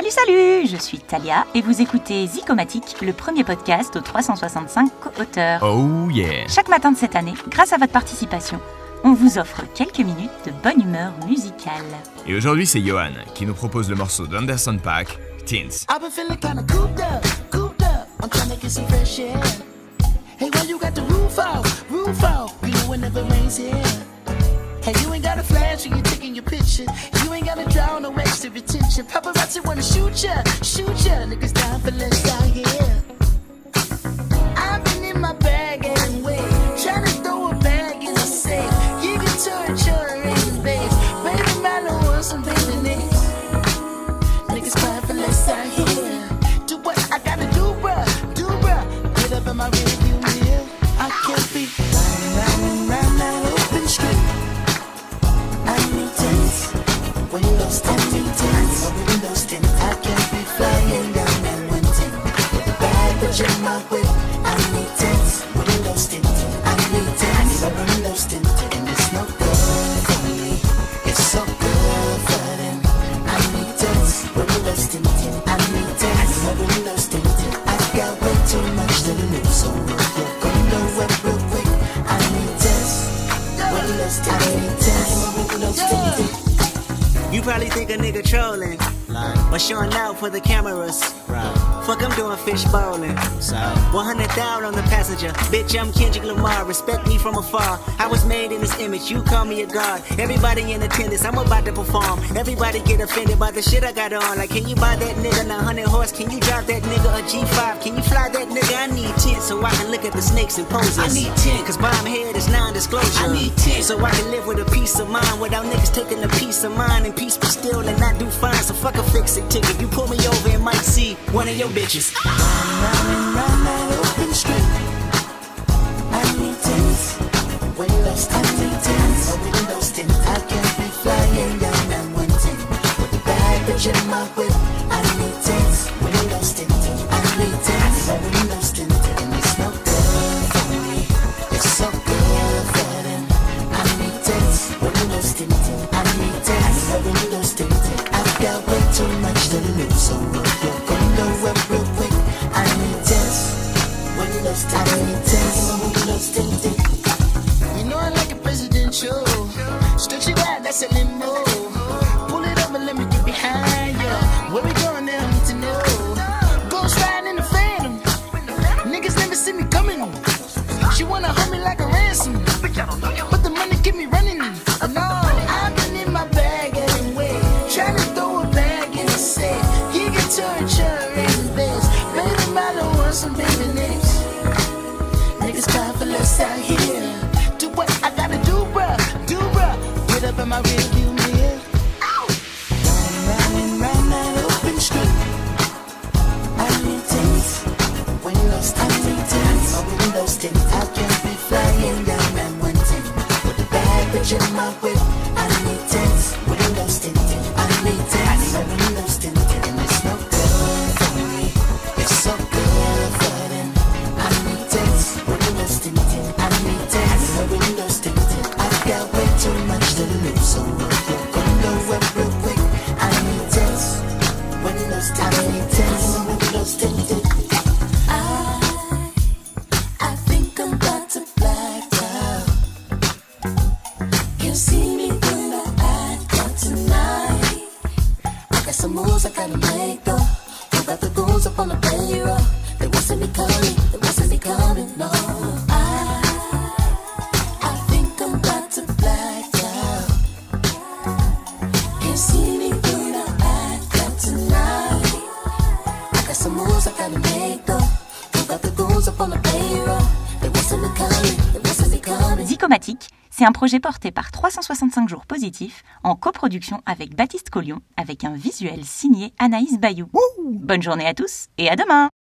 Salut, je suis Talia et vous écoutez Zicomatique, le premier podcast aux 365 co-auteurs. Oh yeah! Chaque matin de cette année, grâce à votre participation, on vous offre quelques minutes de bonne humeur musicale. Et aujourd'hui, c'est Johan qui nous propose le morceau d'Anderson .Paak, Teens. I've been feeling kinda cooped up. I'm trying to get some fresh air. Hey, when you got the roof out, you know whenever rains here. Hey, you ain't got a flash when you're taking your picture. You ain't gotta draw no extra attention. Paparazzi wanna shoot ya. Niggas down for less out here. I've been in my bag anyway, trying to throw a bag in the safe. You can touch your in base. Baby, man, I want some baby names. Niggas crying for less out here. Do what I gotta do, bruh. Get up in my rearview mirror. I can't be riding round that open street. I need tents, windows tint, windows tint. I can't be flying down that one tent. With the bag, but in my whip. I need tents, windows tint. I need tents, windows tint. And it's no good for me. It's so good for them. I need tents, windows tint. I need tents, windows tint. I got way too much to lose, so we're gonna know it real quick. I need tents, windows tint. I need tents, windows tint. You probably think a nigga trolling, or showing out for the cameras. Fuck, I'm doing fish bowling. 100,000 on the passenger. Bitch, I'm Kendrick Lamar. Respect me from afar. I was made in this image. You call me a god. Everybody in attendance. I'm about to perform. Everybody get offended by the shit I got on. Like, can you buy that nigga 900 horse? Can you drive that nigga a G5? Can you fly that nigga? I need 10 so I can look at the snakes and poses. I need 10 cause bomb head is non-disclosure. I need 10 so I can live with a peace of mind without niggas taking a piece of mine and peace be still and not do fine. So fuck a fix-it ticket. You pull me over and might see one of your bitches. Round that open street. I need tents, windows tint. I need tents, windows tint. I can't be flying down that one tent. With the bag, bitch in my whip. I need tents, windows tint. I need tents, windows tint. And it's no good for me. It's so good for them. I need tents, windows tint. I need tents, windows tint. I've got way too much to lose, so you're gonna know it real quick. I need tents, windows tint. I need tents, windows tint. You know I like a presidential. Stretch it out, that's a limo. Pull it up and let me get behind you. Where we going now, I need to know. Ghost riding in the Phantom. Niggas never see me coming. She wanna hold me like a ransom, but the money keep me running. No, I've been in my bag anyway, trying to throw a bag in the safe. You can touch her in base. Baby, I don't want some baby names. Niggas crying for less out here. Do what I gotta do, bruh. Get up in my rearview mirror. Round that open street. I need tents, windows tint. I need tents, windows tint. I can't be flying down that one tent. With the bag, bitch in my whip. I need tents, windows tint. I need tents, windows tint. And it's no good for me. It's so good for them. I need tents, windows tint. I need tents, windows tint. I've got way too much to lose, so you're gonna know it real quick. I need tents, windows tint. I need tents, windows tint. I think I'm about to black out. Can't see me when I act out tonight. I got some moves I gotta make though. Who got the goons up on the payroll? They won't see me coming, no. I think I'm about to black out. Can't see me when I act out tonight. I got some moves I gotta make though. Who got the goons up on the payroll? They won't see me coming. Zicomatique, c'est un projet porté par 365 jours positifs en coproduction avec Baptiste Collion avec un visuel signé Anaïs Bayou. Bonne journée à tous et à demain!